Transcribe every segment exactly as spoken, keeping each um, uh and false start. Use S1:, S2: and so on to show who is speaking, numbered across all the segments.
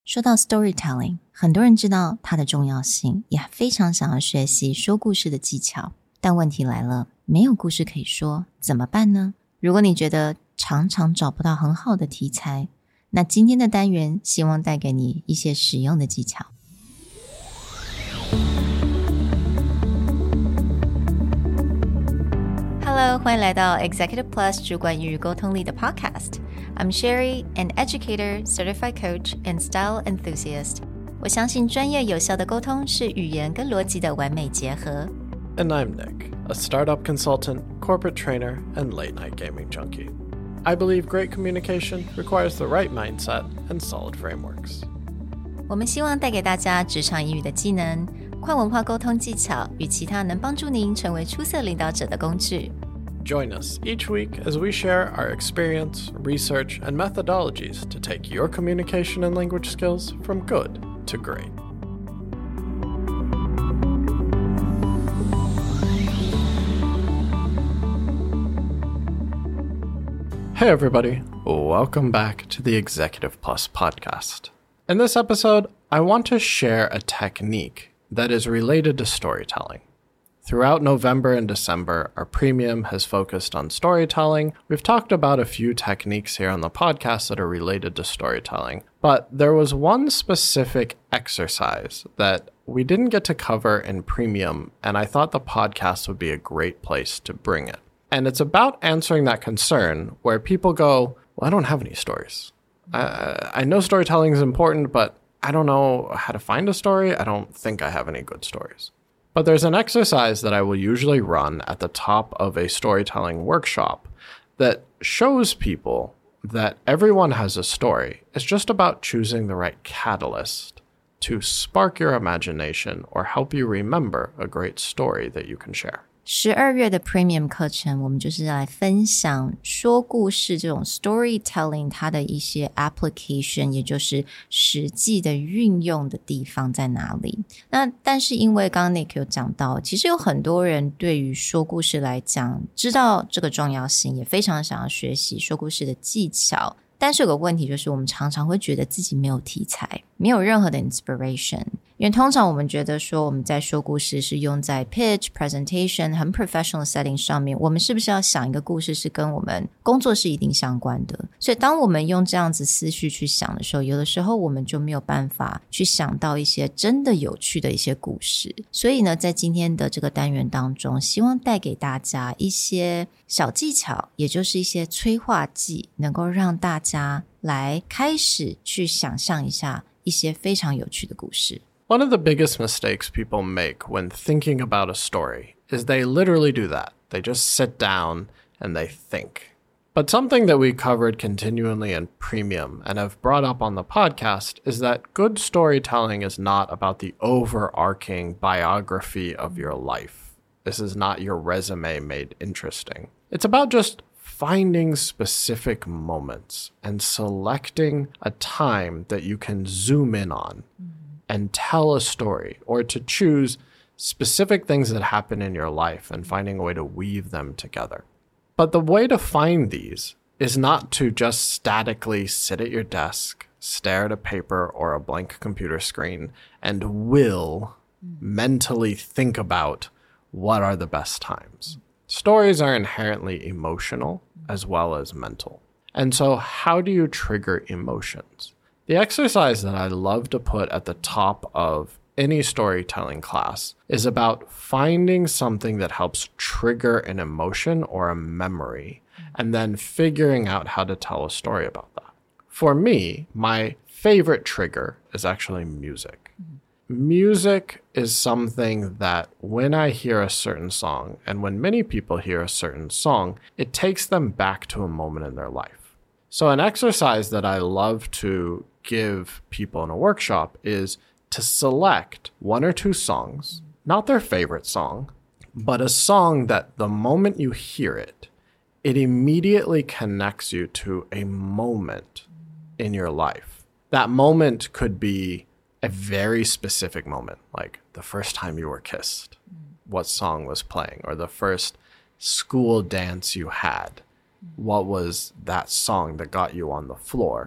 S1: 說到 storytelling， 很多人知道它的重要性，也非常想要學習說故事的技巧。但問題來了，沒有故事可以說，怎麼辦呢？如果你覺得常常找不到很好的題材，那今天的單元希望帶給你一些實用的技巧。Hello， 歡迎來到 Executive Plus 主管與溝通力的 Podcast。I'm Sherry, an educator, certified coach, and style enthusiast. 我相信專業有效的溝通是語言跟邏輯的完美結合。
S2: And I'm Nick, a startup consultant, corporate trainer, and late-night gaming junkie. I believe great communication requires the right mindset and solid frameworks.
S1: 我們希望帶給大家職場英語的技能、跨文化溝通技巧與其他能幫助您成為出色領導者的工具。
S2: Join us each week as we share our experience, research, and methodologies to take your communication and language skills from good to great. Hey everybody, welcome back to the Executive Plus podcast. In this episode, I want to share a technique that is related to storytelling. Throughout November and December, our premium has focused on storytelling. We've talked about a few techniques here on the podcast that are related to storytelling, but there was one specific exercise that we didn't get to cover in premium, and I thought the podcast would be a great place to bring it. And it's about answering that concern where people go, well, I don't have any stories. I, I know storytelling is important, but I don't know how to find a story. I don't think I have any good stories. But there's an exercise that I will usually run at the top of a storytelling workshop that shows people that everyone has a story. It's just about choosing the right catalyst to spark your imagination or help you remember a great story that you can share.
S1: 十二月的 Premium 課程，我們就是來分享說故事這種 storytelling 它的一些 application， 也就是實際的運用的地方在哪裡。那但是因為剛剛 Nick 有講到，其實有很多人對於說故事來講，知道這個重要性，也非常想要學習說故事的技巧。但是有個問題就是，我們常常會覺得自己沒有題材，沒有任何的 inspiration。因為通常我們覺得說我們在說故事是用在 pitch, presentation 很 professional setting 上面，我們是不是要想一個故事是跟我們工作是一定相關的？所以當我們用這樣子思緒去想的時候，有的時候我們就沒有辦法去想到一些真的有趣的一些故事。所以呢，在今天的這個單元當中，希望帶給大家一些小技巧，也就是一些催化劑，能夠讓大家來開始去想象一下一些非常有趣的故事。
S2: One of the biggest mistakes people make when thinking about a story is they literally do that. They just sit down and they think. But something that we covered continually in Premium and have brought up on the podcast is that good storytelling is not about the overarching biography of your life. This is not your resume made interesting. It's about just finding specific moments and selecting a time that you can zoom in on. And tell a story, or to choose specific things that happen in your life and finding a way to weave them together. But the way to find these is not to just statically sit at your desk, stare at a paper or a blank computer screen, and will mentally think about what are the best times. Stories are inherently emotional as well as mental. And so how do you trigger emotions? The exercise that I love to put at the top of any storytelling class is about finding something that helps trigger an emotion or a memory, and then figuring out how to tell a story about that. For me, my favorite trigger is actually music. Mm-hmm. Music is something that when I hear a certain song, and when many people hear a certain song, it takes them back to a moment in their life. So an exercise that I love to give people in a workshop is to select one or two songs, not their favorite song, but a song that the moment you hear it, it immediately connects you to a moment in your life. That moment could be a very specific moment, like the first time you were kissed, what song was playing, or the first school dance you had, what was that song that got you on the floor?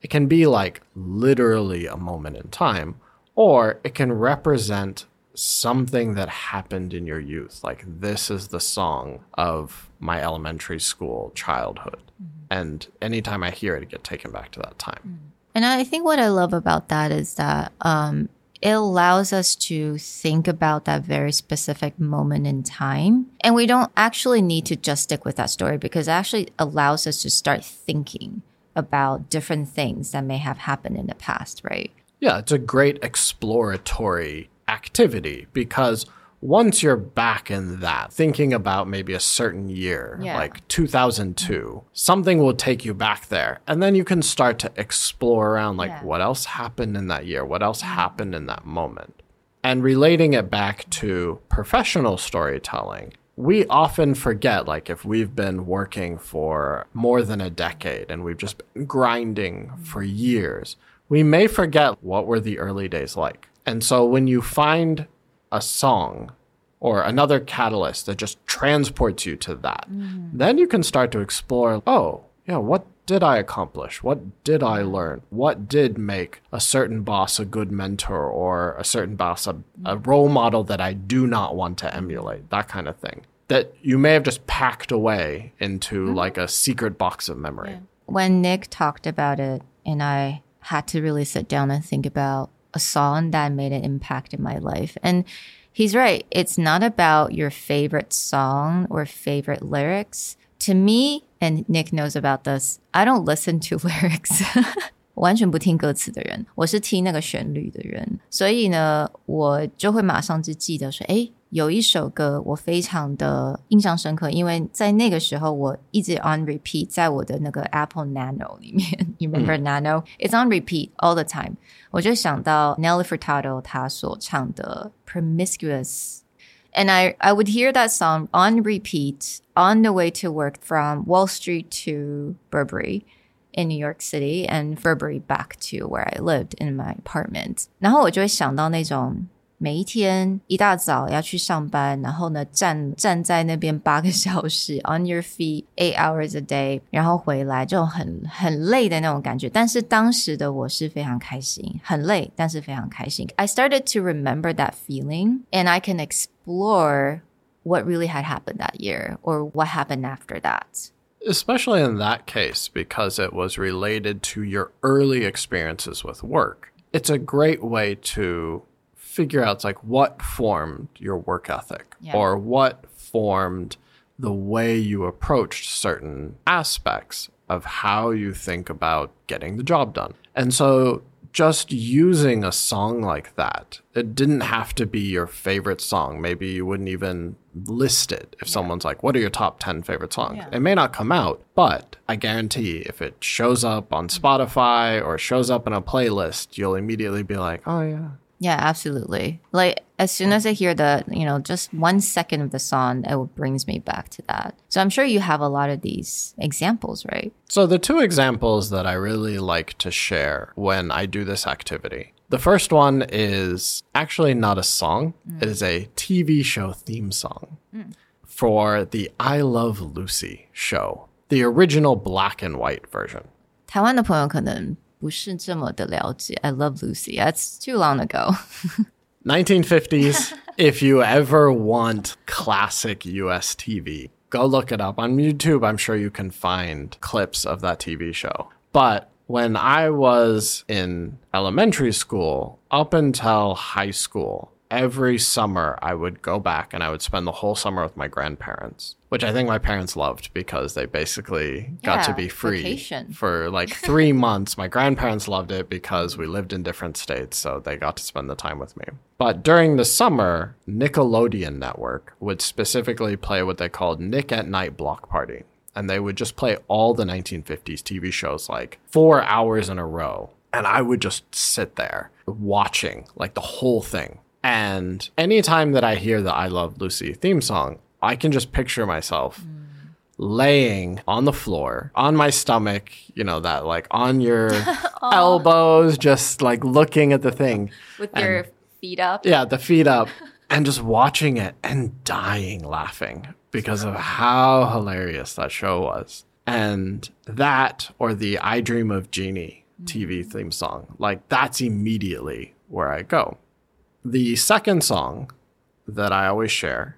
S2: It can be like literally a moment in time, or it can represent something that happened in your youth. Like, this is the song of my elementary school childhood. Mm-hmm. And anytime I hear it, I get taken back to that time.
S1: And I think what I love about that is that um, it allows us to think about that very specific moment in time. And we don't actually need to just stick with that story, because it actually allows us to start thinking about different things that may have happened in the past, right?
S2: Yeah, it's a great exploratory activity, because once you're back in that, thinking about maybe a certain year, yeah. like two thousand two, something will take you back there. And then you can start to explore around, like, yeah. what else happened in that year? What else happened in that moment? And relating it back to professional storytelling, we often forget, like, if we've been working for more than a decade and we've just been grinding for years, we may forget what were the early days like. And so when you find a song or another catalyst that just transports you to that, mm. then you can start to explore, oh, yeah, what did I accomplish? What did I learn? What did make a certain boss a good mentor, or a certain boss a, a role model that I do not want to emulate? That kind of thing that you may have just packed away into mm-hmm. like a secret box of memory.
S1: Yeah. When Nick talked about it, and I had to really sit down and think about a song that made an impact in my life. And he's right. It's not about your favorite song or favorite lyrics. To me, and Nick knows about this, I don't listen to lyrics. 完全不听歌詞的人，我是聽那個旋律的人。所以呢，我就會馬上就記得說，誒，有一首歌我非常的印象深刻，因為在那個時候我一直 on repeat 在我的那個 Apple Nano 裡面。You remember Nano? It's on repeat all the time. 我就想到 Nelly Furtado 他所唱的 Promiscuous。And I, I would hear that song on repeat on the way to work from Wall Street to Burberry in New York City, and Burberry back to where I lived in my apartment. 然后我就會想到那種每一天一大早要去上班，然後呢站站在那邊八個小時 on your feet eight hours a day， 然後回來這種很很累的那種感覺。但是當時的我是非常開心，很累，但是非常開心。I started to remember that feeling, and I can explore what really had happened that year, or what happened after that.
S2: Especially in that case, because it was related to your early experiences with work. It's a great way to figure out, like, what formed your work ethic, yeah. or what formed the way you approached certain aspects of how you think about getting the job done. And so just using a song like that, it didn't have to be your favorite song. Maybe you wouldn't even list it if yeah. someone's like, what are your top ten favorite songs? Yeah. It may not come out, but I guarantee if it shows up on Spotify or shows up in a playlist, you'll immediately be like, oh, yeah.
S1: Yeah, absolutely. Like, as soon as I hear the, you know, just one second of the song, it brings me back to that. So I'm sure you have a lot of these examples, right?
S2: So the two examples that I really like to share when I do this activity, the first one is actually not a song. Mm. It is a T V show theme song mm. for the I Love Lucy show, the original black and white version.
S1: 台灣的朋友可能不是這麼的了解 I Love Lucy. That's too long ago.
S2: nineteen fifties. If you ever want classic U S T V, go look it up. On YouTube, I'm sure you can find clips of that T V show. But when I was in elementary school, up until high school, every summer I would go back and I would spend the whole summer with my grandparents, which I think my parents loved because they basically got
S1: yeah,
S2: to be free
S1: vacation.
S2: For like three months. My grandparents loved it because we lived in different states, so they got to spend the time with me. But during the summer, Nickelodeon Network would specifically play what they called Nick at Night Block Party. And they would just play all the nineteen fifties T V shows like four hours in a row. And I would just sit there watching like the whole thing. And anytime that I hear the I Love Lucy theme song, I can just picture myself mm. laying on the floor, on my stomach, you know, that like on your elbows, just like looking at the thing.
S1: With
S2: and,
S1: your feet up.
S2: Yeah, the feet up. And just watching it and dying laughing because of how hilarious that show was. And that, or the I Dream of Jeannie T V theme song. Like, that's immediately where I go. The second song that I always share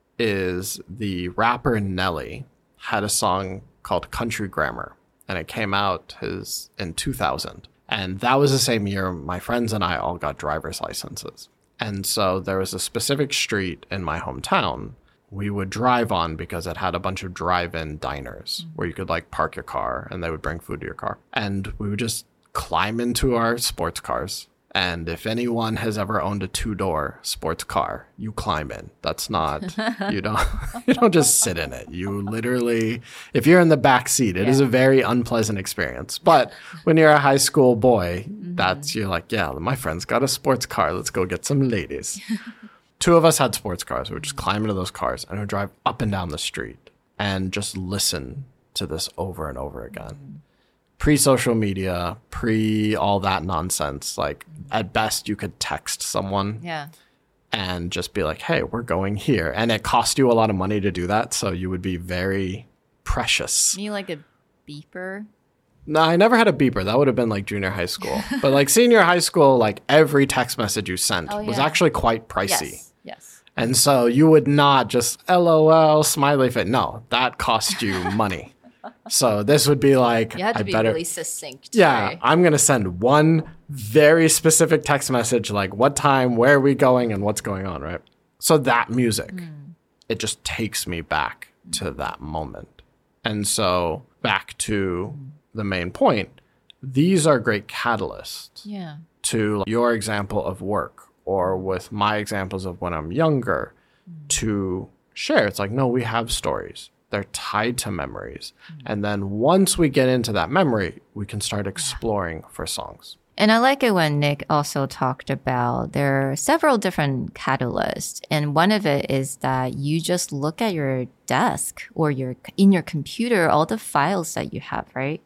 S2: is the rapper Nelly had a song called Country Grammar, and it came out his, in two thousand. And that was the same year my friends and I all got driver's licenses. And so there was a specific street in my hometown we would drive on because it had a bunch of drive-in diners mm-hmm. where you could like park your car and they would bring food to your car. And we would just climb into our sports cars. And if anyone has ever owned a two-door sports car, you climb in. That's not, you don't you don't just sit in it. You literally, if you're in the back seat, it yeah. is a very unpleasant experience. But when you're a high school boy, mm-hmm. that's, you're like, yeah, my friend's got a sports car. Let's go get some ladies. Two of us had sports cars. We would just climb into those cars and we would drive up and down the street and just listen to this over and over again. Mm-hmm. Pre-social media, pre all that nonsense. Like, at best, you could text someone
S1: yeah.
S2: and just be like, hey, we're going here. And it cost you a lot of money to do that, so you would be very precious.
S1: You like a beeper?
S2: No, I never had a beeper. That would have been like junior high school. But like senior high school, like every text message you sent oh, yeah. was actually quite pricey.
S1: Yes, yes.
S2: And so you would not just LOL, smiley face. No, that cost you money. So this would be like,
S1: you had to
S2: I
S1: be
S2: better,
S1: really succinct.
S2: Yeah,
S1: right?
S2: I'm going to send one very specific text message, like what time, where are we going, and what's going on, right? So that music, mm. it just takes me back mm. to that moment. And so back to mm. the main point, these are great catalysts
S1: yeah.
S2: to your example of work or with my examples of when I'm younger mm. to share. It's like, no, we have stories. They're tied to memories. Mm. And then once we get into that memory, we can start exploring yeah. for songs.
S1: And I like it when Nick also talked about there are several different catalysts. And one of it is that you just look at your desk or your in your computer, all the files that you have, right?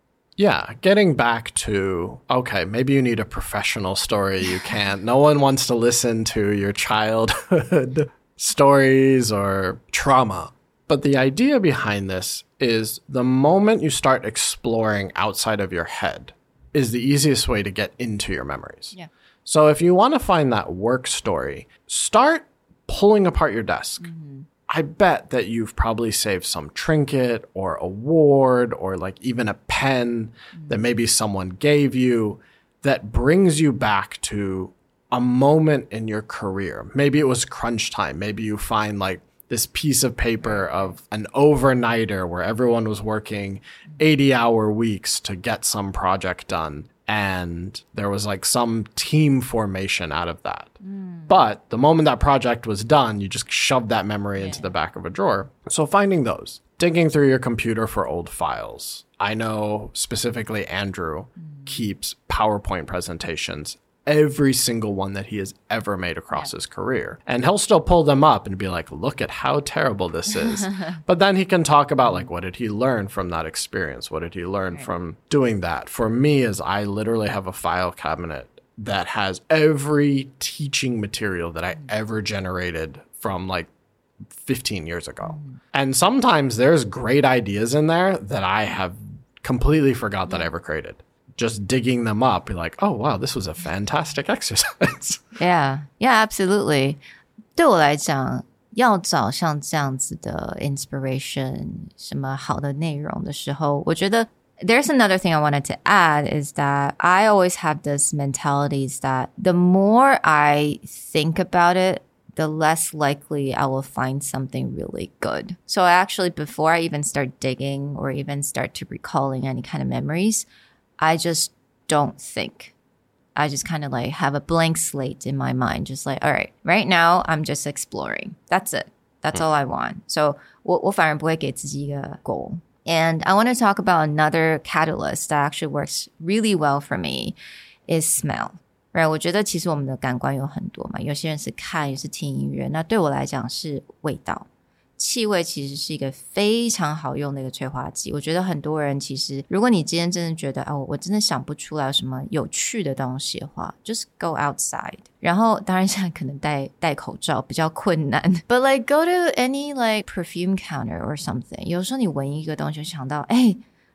S2: Yeah, getting back to, okay, maybe you need a professional story. You can't. No one wants to listen to your childhood stories or trauma. But the idea behind this is the moment you start exploring outside of your head is the easiest way to get into your memories.
S1: Yeah.
S2: So if you want to find that work story, start pulling apart your desk. Mm-hmm. I bet that you've probably saved some trinket or award or like even a pen mm-hmm. that maybe someone gave you that brings you back to a moment in your career. Maybe it was crunch time. Maybe you find like this piece of paper of an overnighter where everyone was working eighty hour weeks to get some project done. And there was like some team formation out of that. Mm. But the moment that project was done, you just shoved that memory yeah. into the back of a drawer. So finding those, digging through your computer for old files. I know specifically Andrew mm. keeps PowerPoint presentations, every single one that he has ever made across yeah. his career. And he'll still pull them up and be like, look at how terrible this is. But then he can talk about like, what did he learn from that experience? What did he learn right. from doing that? For me, is I literally have a file cabinet that has every teaching material that I ever generated from like fifteen years ago. Mm. And sometimes there's great ideas in there that I have completely forgot yeah. that I ever created. Just digging them up, you're like, oh, wow, this was a fantastic exercise.
S1: Yeah, yeah, absolutely. 对我来讲，要找像这樣子的 inspiration 什麼好的內容的時候，我覺得 there's another thing I wanted to add is that I always have this mentality is that the more I think about it, the less likely I will find something really good. So actually, before I even start digging or even start to recalling any kind of memories, I just don't think. I just kind of like have a blank slate in my mind. Just like, all right, right now I'm just exploring. That's it. That's all I want. So 我, 我反而不會給自己一個 goal. And I want to talk about another catalyst that actually works really well for me is smell. Right? 我覺得其實我們的感官有很多嘛，有些人是看，有些是聽音樂。那對我來講是味道。氣味其實是一個非常好用的一個催化劑，我覺得很多人其實如果你今天真的覺得哦，我真的想不出來有什麼有趣的東西的話 just go outside 然後當然現在可能戴戴口罩比較困難 but like go to any like perfume counter or something 有時候你聞一個東西就想到哎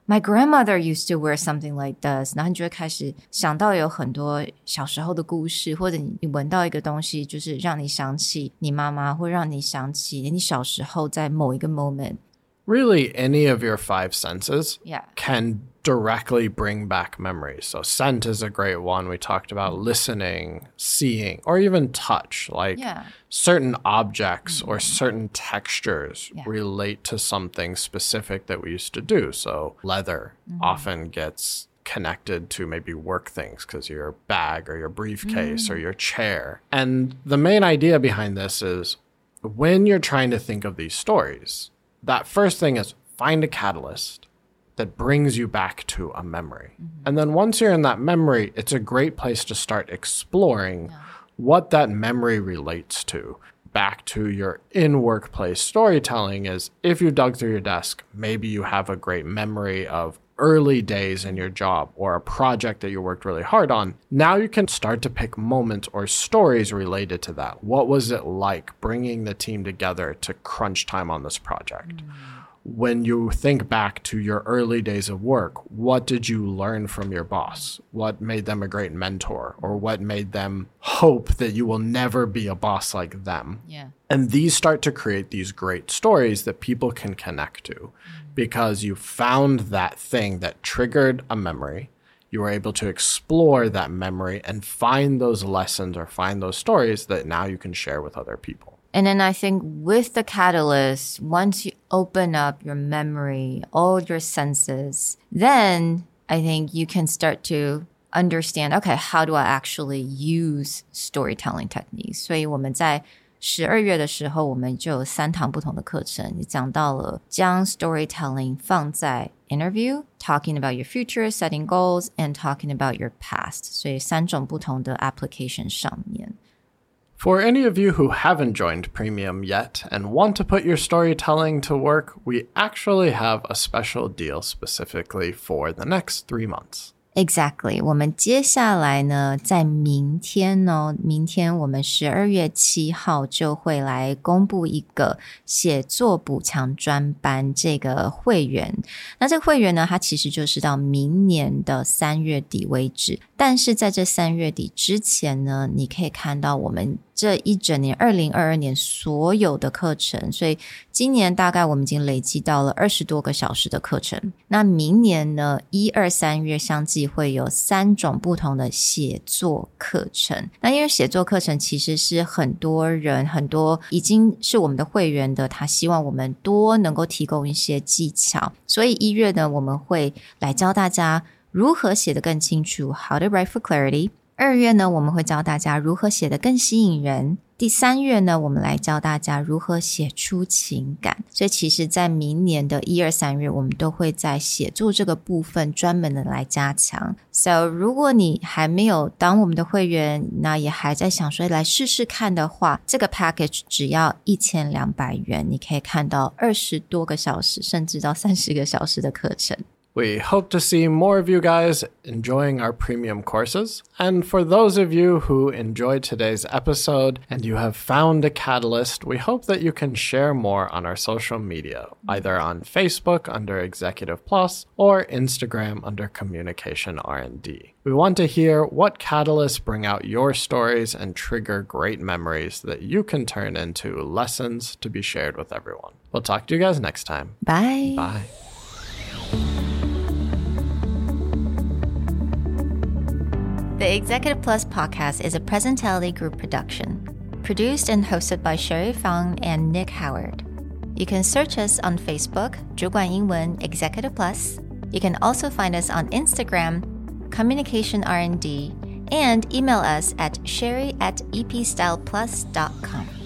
S1: My grandmother used to wear something like this. 然後你就會開始想到有很多小時候的故事，或者你聞到一個東西，就是讓你想起你媽媽，或讓你想起你小時候在某一個 moment。Really,
S2: any of your five senses
S1: yeah.
S2: can directly bring back memories. So scent is a great one. We talked about listening, seeing, or even touch. Like
S1: yeah.
S2: certain objects mm-hmm. or certain textures
S1: yeah.
S2: relate to something specific that we used to do. So leather mm-hmm. often gets connected to maybe work things because your bag or your briefcase mm-hmm. or your chair. And the main idea behind this is when you're trying to think of these stories, that first thing is find a catalyst that brings you back to a memory. Mm-hmm. And then once you're in that memory, it's a great place to start exploring yeah. what that memory relates to. Back to your in-workplace storytelling is if you dug through your desk, maybe you have a great memory of early days in your job or a project that you worked really hard on. Now you can start to pick moments or stories related to that. What was it like bringing the team together to crunch time on this project? Mm. When you think back to your early days of work, what did you learn from your boss? What made them a great mentor? Or what made them hope that you will never be a boss like them?
S1: Yeah.
S2: And these start to create these great stories that people can connect to mm-hmm. because you found that thing that triggered a memory. You were able to explore that memory and find those lessons or find those stories that now you can share with other people.
S1: And then I think with the catalyst, once you open up your memory, all your senses, then I think you can start to understand, okay, how do I actually use storytelling techniques? 所以我們在十二月的時候，我們就有三堂不同的課程，你講到了將 storytelling 放在 interview, talking about your future, setting goals, and talking about your past. 所以三種不同的 application 上面。
S2: For any of you who haven't joined Premium yet and want to put your storytelling to work, we actually have a special deal specifically for the next three months.
S1: Exactly. 我們接下來呢，在明天呢，明天我們十二月七號就會來公布一個寫作補強專班這個會員。那這個會員呢，它其實就是到明年的三月底為止。但是在這三月底之前呢，你可以看到我們這一整年二零二二年所有的課程，所以今年大概我們已經累積到了二十多個小時的課程。那明年呢，一二三月相繼會有三種不同的寫作課程。那因為寫作課程其實是很多人很多已經是我們的會員的，他希望我們多能夠提供一些技巧，所以一月呢，我們會來教大家如何寫得更清楚 How to write for clarity。二月呢，我們會教大家如何寫得更吸引人。第三月呢，我們來教大家如何寫出情感。所以其實在明年的一二三月，我們都會在寫作這個部分專門的來加強。So 如果你還沒有當我們的會員，那也還在想說來試試看的話，這個 package 只要一千兩百元，你可以看到二十多個小時，甚至到三十個小時的課程。
S2: We hope to see more of you guys enjoying our premium courses. And for those of you who enjoyed today's episode and you have found a catalyst, we hope that you can share more on our social media, either on Facebook under Executive Plus or Instagram under Communication R and D. We want to hear what catalysts bring out your stories and trigger great memories that you can turn into lessons to be shared with everyone. We'll talk to you guys next time.
S1: Bye.
S2: Bye.
S1: The Executive Plus podcast is a Presentality Group production, produced and hosted by Sherry Fang and Nick Howard. You can search us on Facebook, 主管英文 Executive Plus. You can also find us on Instagram, Communication R and D, and email us at sherry at epstyleplus dot com.